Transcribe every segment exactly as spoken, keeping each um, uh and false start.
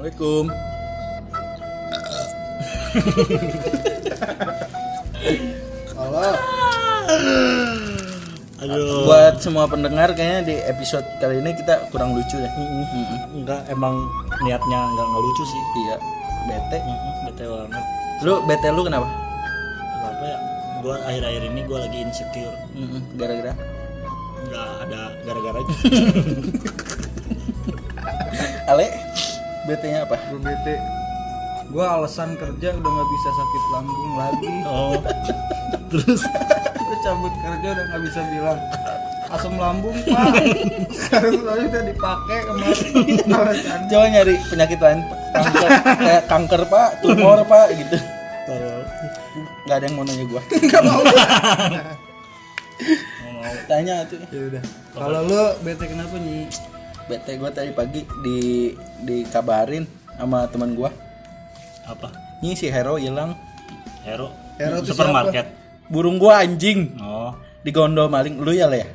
Assalamualaikum. Halo. Aduh. Buat semua pendengar kayaknya di episode kali ini kita kurang lucu ya. Mm-mm. Enggak, emang niatnya enggak ngelucu sih. Iya, bete. Mm-mm, bete banget. Lu bete lu kenapa? Kenapa ya? Gua akhir-akhir ini gua lagi insecure. Mm-mm. Gara-gara Enggak ada gara-garanya. Ale, betenya apa? Gue bete. Gue alasan kerja udah nggak bisa sakit lambung lagi. Oh. Terus Gue cabut kerja udah nggak bisa bilang asam lambung pak. Sekarang soalnya udah dipakai kemarin. Alasan. Coba nyari penyakit lain, kanker, kayak kanker pak, tumor pak gitu. tolong Gak ada yang mau nanya gua. Nggak mau. mau Tanya tuh. Ya udah. Kalau lu bete kenapa nih? Bete gua tadi pagi di dikabarin sama teman gua. apa? Nih si Hero hilang. Hero. Hero tuh Supermarket. Burung gua anjing. Oh. Digondol maling. Lu ya le ya?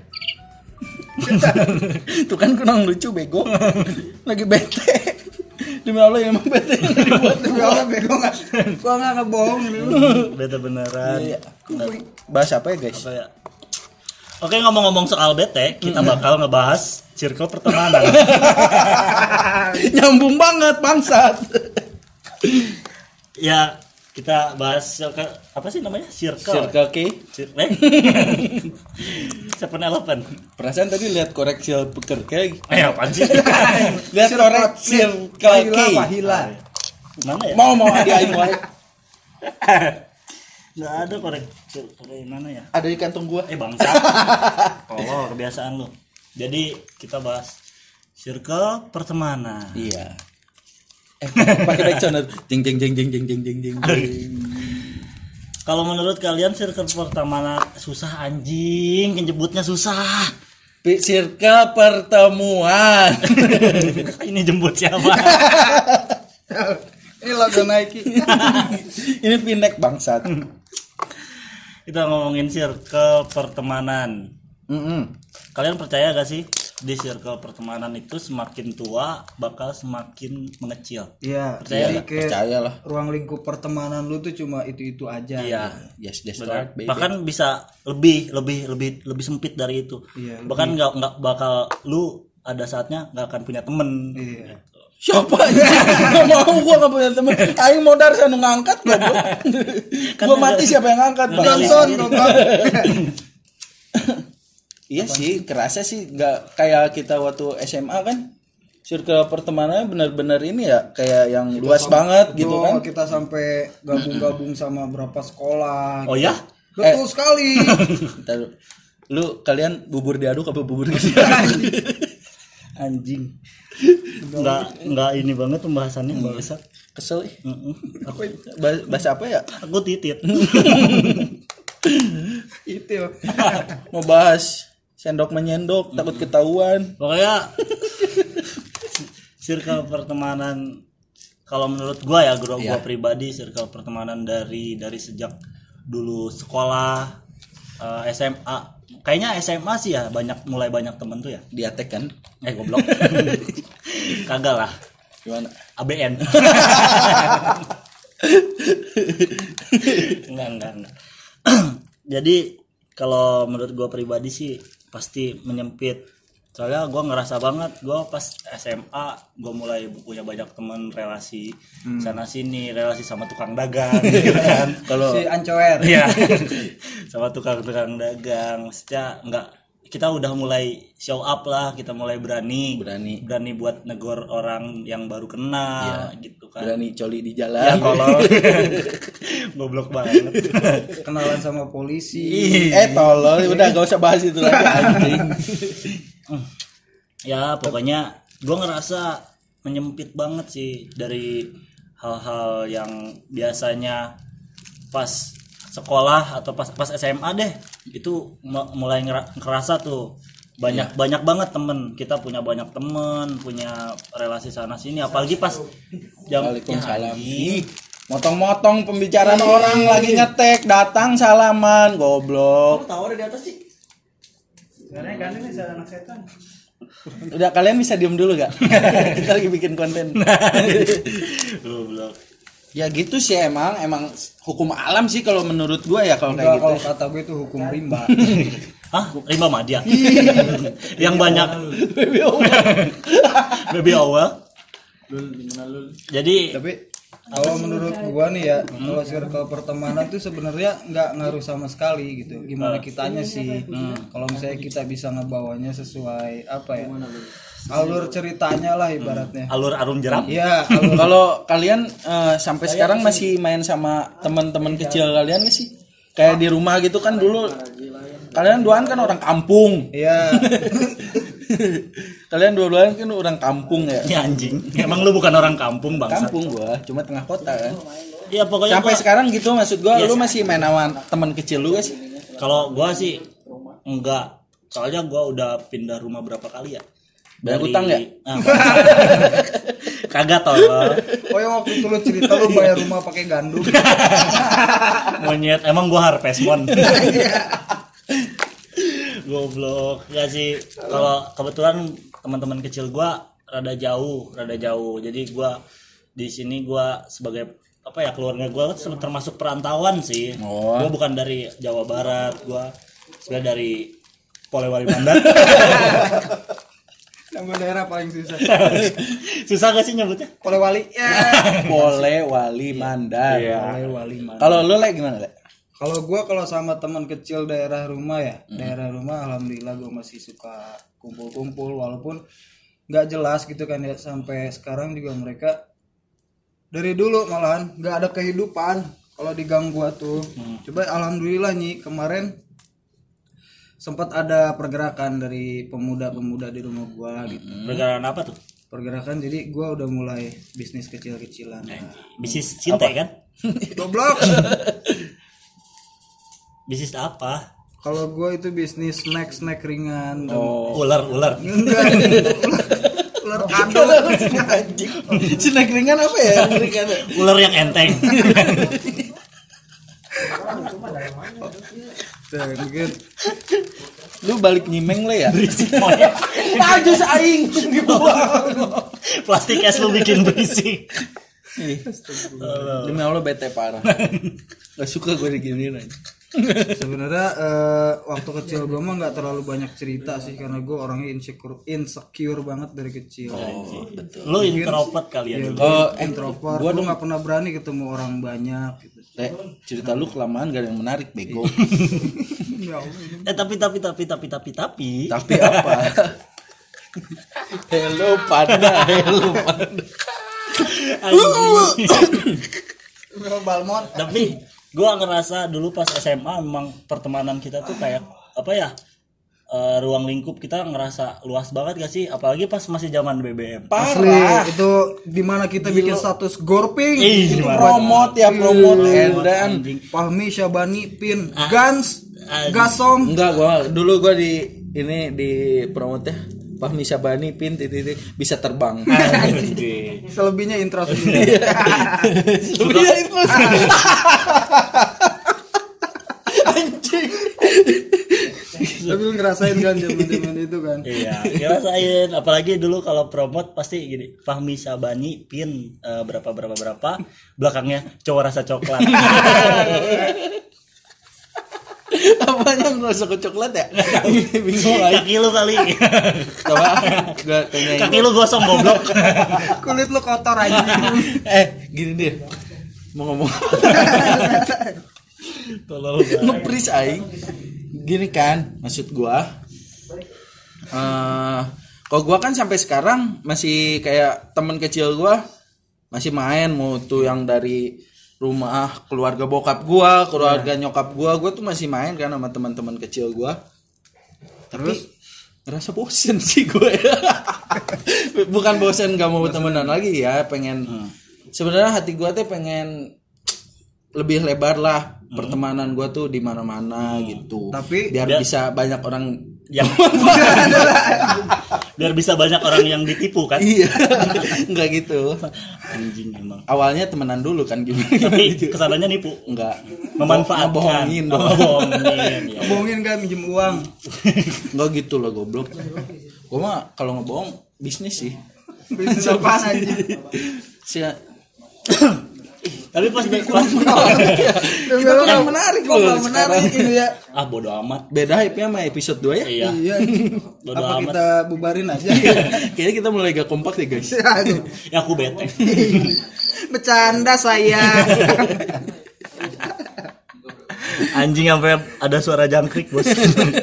Tuh kan kurang lucu bego. Lagi bete. Demi Allah ya emang bete yang dibuat Demi Allah bego nggak? Gua nggak ngebohong ini. Bete beneran. Iya. Bahas apa ya guys? Apa ya? Oke, ngomong-ngomong soal bete, kita bakal ngebahas circle pertemanan. Nyambung banget bangsat. Ya, kita bahas circle, apa sih namanya? Circle. Circle K. Circle. Eh? Seven Eleven. Perasaan tadi lihat korek Circle K. Eh, apaan sih? Lihat korek Circle K. Pahila, pahila. Mana ya? Mau mau ada aing wae. Nggak ada korek circle mana ya? Ada di kantong gua. Eh, bangsa. Tolong kebiasaan lu. Jadi, kita bahas circle pertemanan. Iya. Eh, pakai backsound. Jing jing jing jing jing jing jing jing. Kalau menurut kalian circle pertemanan susah anjing, nyebutnya susah. Circle pertemuan. Ini jemput siapa? Ini logo Nike. Ini Pinek bangsat. Kita ngomongin circle pertemanan. Mm-mm. Kalian percaya gak sih di circle pertemanan itu semakin tua bakal semakin mengecil? Iya. Percaya Jadi nggak? kayak Percayalah. ruang lingkup pertemanan lu tuh cuma itu-itu aja. Iya. Yes, that's Benar. right, baby. Bahkan bisa lebih lebih lebih lebih sempit dari itu. Iya, Bahkan nggak nggak bakal lu ada saatnya nggak akan punya temen. Iya. Siapa aja? Gak mau, gua gak punya temen. Aing modar sana ngangkat goblok. Gua mati siapa yang ngangkat, Bang? Johnson goblok. Iya sih, kerasa sih nggak kayak kita waktu S M A kan. Circle pertemanannya benar-benar ini ya kayak yang luas banget gitu kan. Kita sampai gabung-gabung sama berapa sekolah. Oh ya? Betul Eh. sekali. Ntar, lu kalian bubur diaduk apa bubur diaduk? Anjing. Nggak nggak ini banget pembahasannya bahasa. Kesel ih. Mm-mm. Apa bahas, bahas apa ya? Aku titit. Itu. Mau bahas sendok menyendok takut ketahuan. Pokoknya circle pertemanan kalau menurut gua ya gua, gua Iya. pribadi circle pertemanan dari dari sejak dulu sekolah eh, S M A kayaknya S M A sih ya banyak mulai banyak temen tuh ya. Diatek kan? Eh goblok. Kagak lah. Gimana? A B N. enggak enggak enggak. Jadi kalau menurut gua pribadi sih pasti menyempit. Soalnya gue ngerasa banget gue pas S M A gue mulai punya banyak teman relasi hmm. sana sini, relasi sama tukang dagang gitu kan. Kalau Si Ancoer. Iya. Sama tukang-tukang dagang. Maksudnya enggak, kita udah mulai show up lah, kita mulai berani Berani. berani buat negor orang yang baru kenal Iya. gitu kan. berani coli di Ya jalan. kalau goblok banget. Kenalan sama polisi. Eh tolol, udah gak usah bahas itu lagi anjing. Ya pokoknya gue ngerasa menyempit banget sih dari hal-hal yang biasanya pas sekolah atau pas pas S M A deh itu m- mulai ngera- ngerasa tuh banyak banyak banget temen kita, punya banyak temen, punya relasi sana sini, apalagi pas jam Waalaikumsalam. ya, Ih, motong-motong pembicaraan orang lagi ngetek, datang salaman, goblok. tahu ada di atas sih. Karena gandeng nih anak setan. Udah, kalian bisa diem dulu gak? Kita lagi bikin konten. Goblok. Ya gitu sih, emang emang hukum alam sih kalau menurut gua ya kalau kayak Enggak, gitu. kalau kata gue itu hukum rimba. Hah? Rimba Madya? Yang banyak baby owl. Jadi Tapi kalau menurut gua nih ya, kalau circle pertemanan tuh sebenarnya nggak ngaruh sama sekali gitu. Gimana kitanya sih? Kalau misalnya kita bisa ngebawanya sesuai apa ya? Alur ceritanya lah ibaratnya. alur arum jeram. Iya, alur Kalau kalian eh, sampai sekarang masih main sama teman-teman kecil kalian gak sih? Kayak di rumah gitu kan dulu. Kalian duaan kan orang kampung. iya. Kalian dua-duaan kan orang kampung ya. Ya anjing. Emang lu bukan orang kampung bangsa. Kampung gua, cuma tengah kota kan. Iya pokoknya Sampai gua- sekarang gitu maksud gua, Iya, lu masih main sama teman kecil lu gak sih? Kalau gua sih enggak. Soalnya gua udah pindah rumah berapa kali ya? Banyak utang ya? Ah, kagak tolong. Oh yang waktu itu lu cerita lu bayar rumah pakai gandum. Monyet, emang gua harvestmon. Goblok. Ya sih, kalau kebetulan teman-teman kecil gua rada jauh, rada jauh. Jadi gua di sini gua sebagai apa ya, keluarga gua termasuk perantauan sih. Oh. Gua bukan dari Jawa Barat, gua sebenarnya dari Polewali Mandar. Nama daerah paling susah. Susah gak sih nyebutnya? Polewali. Ya. Boleh wali mandar. Iya. Polewali mana? Kalau lu lagi gimana, Le? Kalau gua kalau sama teman kecil daerah rumah ya, daerah rumah alhamdulillah gua masih suka kumpul-kumpul walaupun nggak jelas gitu kan ya, sampai sekarang juga mereka dari dulu malahan nggak ada kehidupan kalau di gang gua tuh. Coba alhamdulillah nih kemarin sempat ada pergerakan dari pemuda-pemuda di rumah gua gitu. Pergerakan apa tuh? Pergerakan jadi gua udah mulai bisnis kecil-kecilan. Nah, Bisnis cinta kan? goblok. Bisnis apa? Kalau gua itu bisnis snack-snack ringan. Oh. Ular, ular. Enggak. Ular kado. Anjing. Snack ringan apa ya? Ringan. Ular yang enteng. Tuh, mungkin Lu balik nyimeng le ya? Monyet. Tajus aing dibuang. Plastik es lu bikin berisik. Ih, demi Allah bete parah. Gak suka gue diginiin aja. sebenarnya eh, waktu kecil gue mah nggak terlalu banyak cerita sih karena gue orangnya insecure insecure banget dari kecil. Oh, betul. Lu introvert kali ya Ya, dulu. gue Oh, eh, introvert. gua Gue nggak pernah berani ketemu orang banyak. Gitu. Le, cerita lu kelamaan gak ada yang menarik, bego. Ya Allah, ini Eh tapi tapi tapi tapi tapi tapi Tapi apa? Hello panda, hello panda. Balmon. Tapi gua ngerasa dulu pas S M A memang pertemanan kita tuh kayak apa ya? Eh, ruang lingkup kita ngerasa luas banget gak sih? Apalagi pas masih zaman B B M. Asli Parah. itu dimana kita bikin status gorping. Ih, Itu gimana? Promote ya, promote edan. Anjing. Fahmi Syabani Pin Gans anjing. Gasong. Enggak, gua dulu gua di ini di promote ya. Fahmi Syabani pin titik bisa terbang. Anjing. Selebihnya intro sendiri. Lebihnya itu. Anjing. Tapi lu ngerasain kan zaman-zaman itu kan. Iya, ngerasain. Apalagi dulu kalau promote pasti gini, Fahmi Syabani pin eh, berapa berapa berapa, belakangnya cowok rasa coklat. Apanya ngerasa ke coklat ya? Bingung aja. Kaki lu kali. Coba gua tanyain. Kaki lu gosong goblok. Kulit lu kotor aja. Eh, gini deh. Mau ngomong Tolol banget. ngepris aing. Gini kan, maksud gua eh kalau gua kan sampai sekarang masih kayak temen kecil gua masih main, mau tuh yang dari rumah keluarga bokap gua, keluarga nyokap gua, gua tuh masih main kan sama teman-teman kecil gua. Tapi ngerasa bosen sih gue. Bukan bosen gak mau temenan lagi ya, pengen sebenarnya hati gua tuh pengen lebih lebar lah pertemanan gua tuh di mana-mana gitu. Tapi biar dia- bisa banyak orang Yang biar bisa banyak orang yang ditipu kan. iya. Enggak gitu. Anjing emang. Awalnya temenan dulu kan gimana? Tapi kesananya nipu. Enggak. Memanfaatkan. Ngebohongin Oh, dong. ngebohongin, ya. bohongin kan minjem uang. Enggak gitu lah goblok. Gue mah kalau ngebohong bisnis sih. Bisnis apaan anjing? Si Tapi pas pas kita tuh yang menarik Kok loh nggak menarik sekarang. ini ya? ah bodo amat. Beda hype-nya sama episode dua ya. Iya. Iya. Bodo Apa amat. kita bubarin aja? Kayaknya kita mulai gak kompak deh guys. Aduh, Ya aku bete. bercanda saya. Anjing sampai ada suara jangkrik, Bos.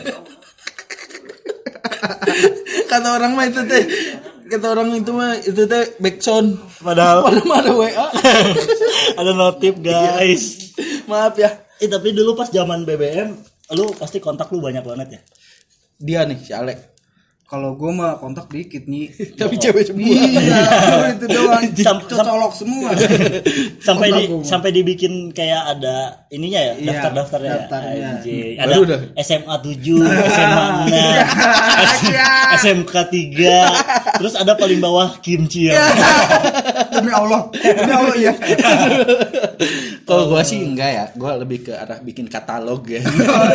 Kata orang mah itu teh, kata orang itu mah itu teh backsound. Padahal Padahal mah ada W A. ada notif, guys. Maaf ya. Eh tapi dulu pas zaman B B M, lu pasti kontak lu banyak banget ya. Dia nih si Alek. Kalau gue mah kontak dikit nih. Tapi cewek semua. Iya, itu doang. Sam- sam- Colok semua. Sampai di Kontak gua. sampai dibikin kayak ada ininya ya, Iya, daftar-daftarnya. ya? daftarnya. Anjing. Baru Ada udah. S M A tujuh, S M A enam, S M K tiga, terus ada paling bawah kimchi ya. Demi Allah. Demi Allah ya. Kalau gua sih enggak ya, gua lebih ke arah bikin katalog ya.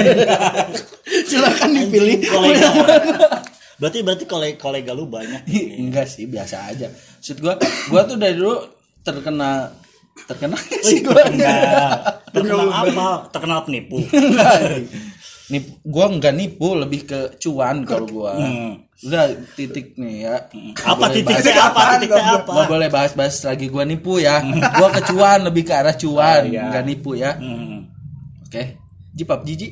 Silakan dipilih. Anjing, kolega. Berarti berarti kolega, kolega lu banyak. Enggak sih, biasa aja. Maksud gua, gua tuh dari dulu terkena terkena sih gua. Terkenal. Terkenal apa? Terkenal penipu. Nip, gua enggak nipu, lebih ke cuan kalau gua. Hmm. Udah titik nih ya. Apa Boleh titik bahas- teh apa? Titik teh apa? Nggak boleh bahas-bahas lagi gua nipu ya. Gua ke cuan, lebih ke arah cuan, Oh, iya. enggak nipu ya. Hmm. Oke. Jipap jiji.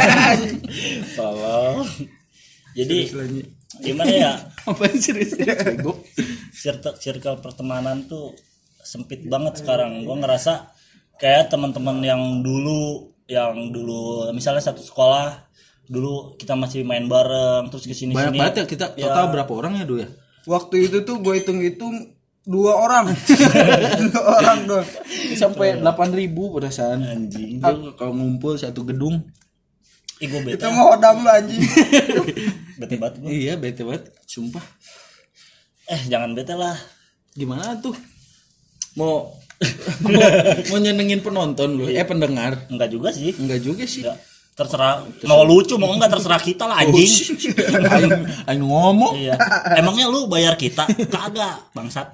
Tolong. Jadi gimana ya? Apa serius? Bego. Circle, circle pertemanan tuh sempit banget sekarang. Gue ngerasa kayak teman-teman yang dulu, yang dulu misalnya satu sekolah, dulu kita masih main bareng, terus kesini Banyak sini. banget ya kita total berapa orang ya dulu ya? Waktu itu tuh gue hitung-hitung dua orang. Dua orang doang. Sampai delapan ribu perasaan. Anjing. Dia kalau ngumpul satu gedung. Ih gue bete. Itu mau hodam lu anjing. Bete banget gua. Iya, bete banget, sumpah. Eh jangan bete lah. Gimana tuh? Mau mau, mau nyenengin penonton lu, eh pendengar. Enggak juga sih. Enggak juga sih. Enggak. Terserah mau lucu mau enggak terserah kita lah anjing. Aing, aing ngomong. Iya. Emangnya lu bayar kita? Kagak, bangsat.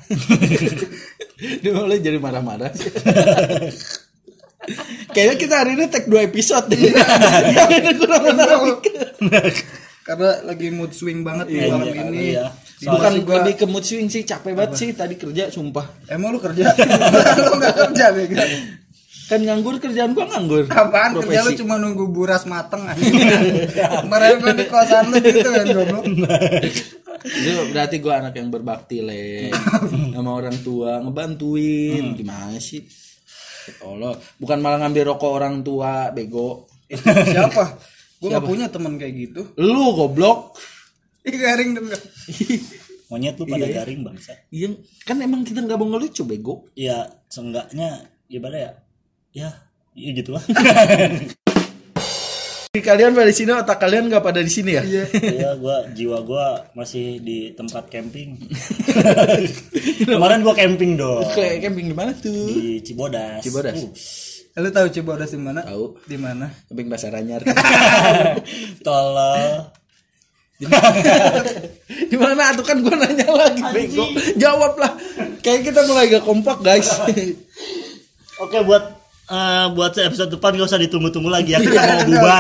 Dia mulai jadi marah-marah. Kayaknya kita hari ini take dua episode deh. Yang kurang menarik. Karena lagi mood swing banget nih Iya, malam iya, ini. iya. Bukan Soalnya gua- lebih ke mood swing sih, capek banget sih tadi kerja sumpah. Emang lu kerja? Lu enggak kerja bego. Kan nganggur, kerjaan gua nganggur. Apaan kerja lu Profesi. cuma nunggu buras mateng aja. Kemarin gua di kosan lu gitu kan goblok. Itu berarti gua anak yang berbakti le sama orang tua, ngebantuin. Gimana sih? Allah, bukan malah ngambil rokok orang tua, bego. Itu siapa? Gua enggak punya teman kayak gitu. Lu goblok. Ih garing denger. Monyet lu pada garing bangsa. Iya, kan emang kita nggak mau ngelucu bego. Ya seenggaknya gimana ya? Ya, ya gitulah. Kalian pada di sini, otak kalian nggak pada di sini ya? Iya. Iya, gua jiwa gua masih di tempat camping. Kemarin gua camping dong Kayak camping di mana tuh? di Cibodas. Cibodas. Uh, Lu tahu Cibodas di mana? Tahu. Di mana? Camping Pasar Anyar. tolong. Di mana tuh kan gua nanya lagi bego. Jawab lah. Kayak kita mulai gak kompak guys. Oke, buat eh, buat episode depan gak usah ditunggu-tunggu lagi ya, kita mau bubar.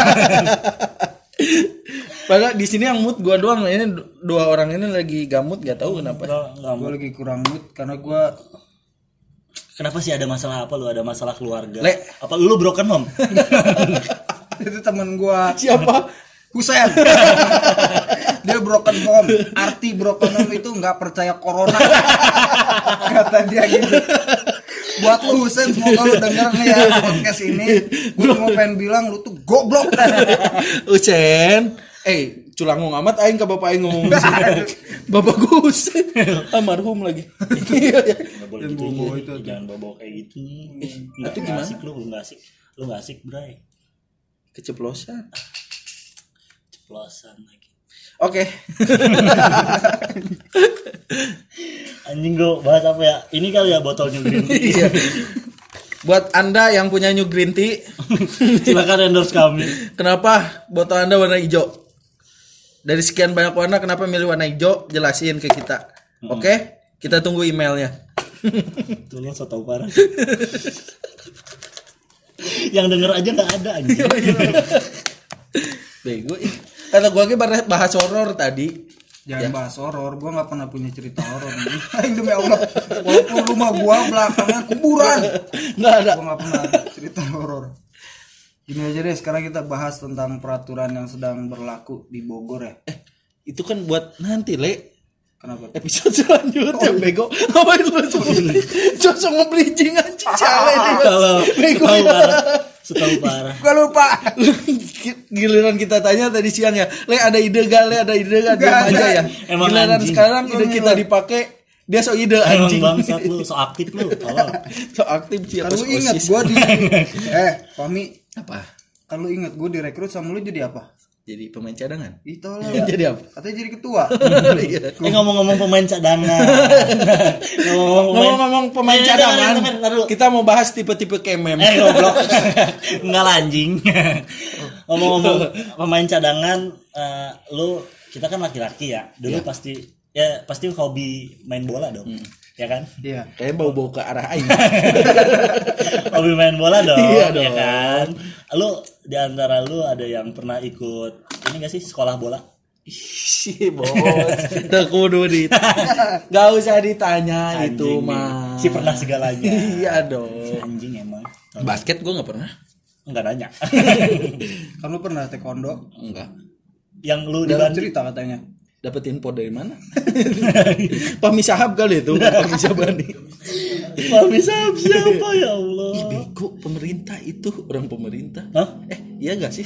Padahal di sini yang mood gua doang. Ini dua orang ini lagi gamut, gak tahu kenapa. Nggak, nggak Gue mau. lagi kurang mood karena gue Kenapa sih ada masalah apa lu? Ada masalah keluarga? Le. Apa lu broken home? itu teman gue Siapa? Husen. Dia broken home. Arti broken home itu nggak percaya corona. Kata dia gitu. Buat lu Husen, semoga lu denger nih ya podcast ini. Gue cuma pengen bilang lu tuh goblok. Ucen. Eh, culangung amat aing ke bapak aing ngomong gitu. Bapak gue Ucen. Almarhum lagi. Iya, iya. Nggak boleh gitu. bobo ya. itu tuh. Jangan bawa kayak gitu. Nggak itu gimana? asik lu, lu nggak asik. Lu nggak asik, Bray. Keceplosan. Ceplosan lagi. Oke. Anjing gua bahas apa ya? Ini kali ya botol New Green Tea. Iya. Buat Anda yang punya New Green Tea, Silakan endorse kami. kenapa botol Anda warna hijau? dari sekian banyak warna kenapa milih warna hijau? Jelasin ke kita. Hmm. Oke? Okay? Kita tunggu emailnya. Tuh lo so tau parah. Yang denger aja nggak ada anjing. Bego. Kata gua lagi bahas horor tadi. Jangan Ya. bahas horor, gua nggak pernah punya cerita horor. Aing demi Allah, walaupun rumah gua belakangnya kuburan, Nggak ada. gua nggak pernah ada cerita horor. Gini aja deh, sekarang kita bahas tentang peraturan yang sedang berlaku di Bogor ya. Eh, itu kan buat nanti, Le. Kenapa? Episode selanjutnya, bego. Ngapain lu sebutin? Sosok nge-bridging anjing cale ini. Kalau Bego. setahu parah, setahu parah. Gua lupa. Giliran kita tanya tadi siang ya, Le ada ide gak? Le ada ide gak? Diam Gak aja ada. ya. Emang Giliran anjing. sekarang ide Emang kita gila. dipakai, dia so ide Emang anjing. bangsat lu, so aktif lu. Tolong. So aktif sih Kan apa lu ingat OSIS. gua di eh, Fahmi, Apa? kan lu ingat gua direkrut sama lu jadi apa? Jadi pemain cadangan. Itu lah. Jadi apa? Katanya jadi ketua. Iya. Eh ngomong-ngomong pemain cadangan. Ngomong-ngomong Ngomong-ngomong pemain Eh, cadangan, dengerin, dengerin, dengerin. kita mau bahas tipe-tipe kemem. Eh goblok. Enggak lah, anjing. Ngomong-ngomong pemain cadangan, eh, lu kita kan laki-laki ya. Dulu Ya. pasti ya pasti hobi main bola dong. Ya kan? Iya. Kayak bau-bau ke arah aing. Hobi main bola dong, Iya ya dong. kan? Lu di antara lu ada yang pernah ikut ini gak sih sekolah bola? Ih, bos. Teu kudu dit. Gak usah ditanya Anjing itu nih. mah. Si pernah segalanya. Iya dong. Anjing emang. Basket gue nggak pernah. Enggak nanya. Kan lu pernah taekwondo? Enggak. Yang lu di Dalam Bandung cerita katanya. Dapat info dari mana? Pami Sahab kali itu, Pami Sabani. Pami Sahab siapa ya Allah? Ih, bego pemerintah itu orang pemerintah. Hah? Eh, iya gak sih?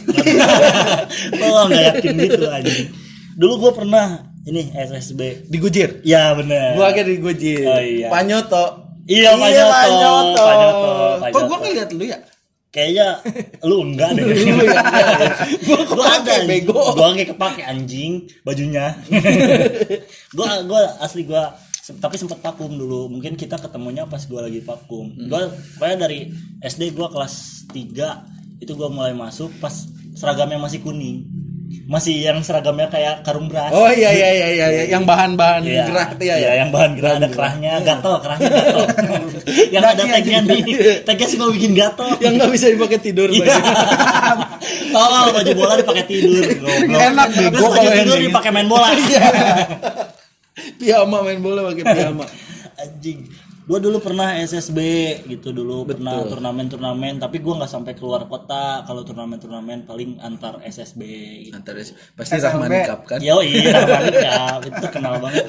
Oh nggak yakin gitu anjing. Dulu gue pernah ini S S B. Digujir. Ya bener. Gua kayak digujir. Oh, iya. Panyoto. Iya, Panyoto. Panyoto. Panyoto. Kok gua Panyoto. ngeliat lu ya? Kayaknya lu enggak deh. Lu ya. Gua Gua ada kepake bego. Gua nggak kepake anjing bajunya. gua gua asli gua se- tapi sempat vakum dulu. Mungkin kita ketemunya pas gua lagi vakum. Gua pokoknya dari S D gua kelas tiga itu gua mulai masuk pas seragamnya masih kuning. Masih yang seragamnya kayak karung beras. Oh iya iya iya iya, iya. Yang bahan-bahan Iya, gerah tuh ya. iya, ya? yang bahan gerah ada kerahnya, gatel, kerahnya gatel. Yang ada tagnya nih, tagnya sih mau bikin gatel. Yang nggak bisa dipakai tidur. Iya. baju. Tolong baju bola dipakai tidur. Goblok. Enak Terus bego baju kalau tidur yang dipakai main bola. Piyama main bola pakai piyama. Anjing. Gua dulu pernah S S B gitu dulu, pernah turnamen-turnamen, tapi gua nggak sampai keluar kota. Kalau turnamen-turnamen paling antar S S B. Gitu. Antar pasti S M B. Rahmani Cup kan. Yo iya, banget ya. Itu terkenal banget.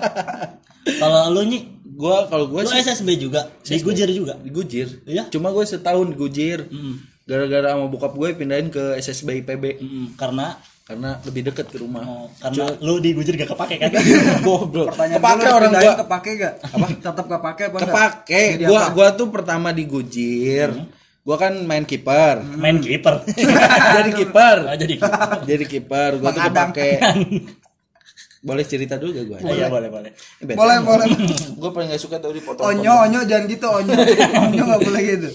Kalau lu nih, Gua kalau gua lu sih S S B juga, di Gujir juga. digujir. Iya? Cuma gue setahun digujir. Gara-gara sama bokap gue pindahin ke S S B I P B Mm, karena karena lebih deket ke rumah. oh, karena lu di Gujir gak kepake kan? Goblok. Pertanyaan Kepake dulu, orang pindahin gua. kepake gak? Apa? Tetap kepake apa enggak? Kepake. Jadi Gua apa? gua tuh pertama digujir. Gua kan main kiper. Main kiper. Jadi kiper. Oh, jadi Jadi kiper. Gua tuh Mengadang. kepake. Boleh cerita dulu gak gua? Oh, iya boleh boleh. Boleh, boleh. Gue paling gak suka tau dipotong. Onyo, onyo jangan gitu, onyo. Onyo enggak boleh gitu.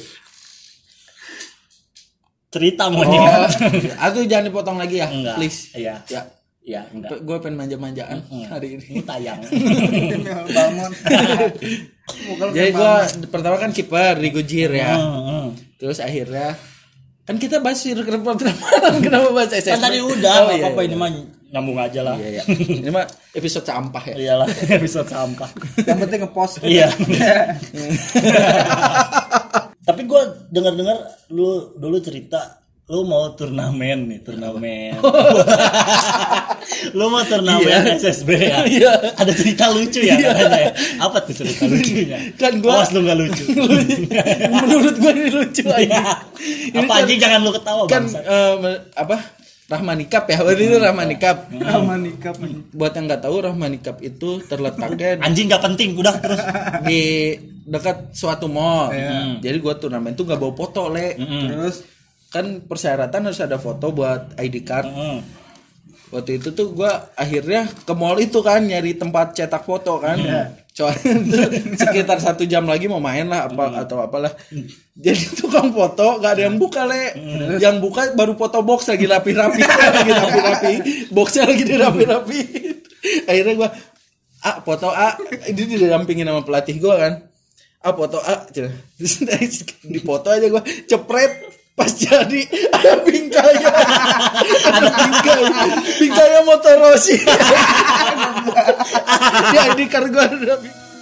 Cerita Oh, monyet. aku jangan dipotong lagi ya, Enggak. please. Iya. Ya, Iya, enggak. gue pengen manja-manjaan Hmm. hari ini. Ini tayang. Bangun. Bukan Jadi gue pertama kan kiper digujir ya. Hmm, hmm. Terus akhirnya kan kita bahas rekrutan malam, kenapa bahas S S B? Kan tadi udah, Oh, nggak iya, apa-apa iya. ini mah nyambung aja lah. Iya, iya. Ini mah episode sampah ya. Iyalah, episode sampah. yang penting ngepost. Iya. Tapi gue dengar-dengar lu dulu cerita lu mau turnamen nih, turnamen. Lu mau turnamen Iya. S S B ya? Iya. Ada cerita lucu ya katanya. ya? Apa tuh cerita lucunya? Kan gua- Awas lu enggak lucu. Menurut gue ini lucu aja. Iya. Apa kan- anjing jangan lu ketawa Kan bangsa. eh, apa? Rahmani Cup ya, waktu itu Rahmani Cup. Sama nikah. Buat yang nggak tahu Rahmani Cup itu terletaknya Anjing gak penting, udah terus. di dekat suatu mall. Iya. Jadi gua turnamen tuh gak bawa foto, Le. Mm-mm. Terus Kan persyaratan harus ada foto buat I D card. Mm. waktu itu tuh gue akhirnya ke mall itu kan nyari tempat cetak foto kan. Soalnya tuh sekitar satu jam lagi mau main lah apa atau apalah. Jadi tukang foto gak ada yang buka le. Yang buka baru foto box lagi rapi-rapi, lagi rapi-rapi, boxnya lagi dirapi-rapi. Akhirnya gue ah foto ah ini didampingin sama pelatih gue kan. Ah foto ah, terus di foto aja gue cepret. Pas jadi ada bingkainya, ada bingkai, bingkainya motor Rossi. Ya di kargo ada.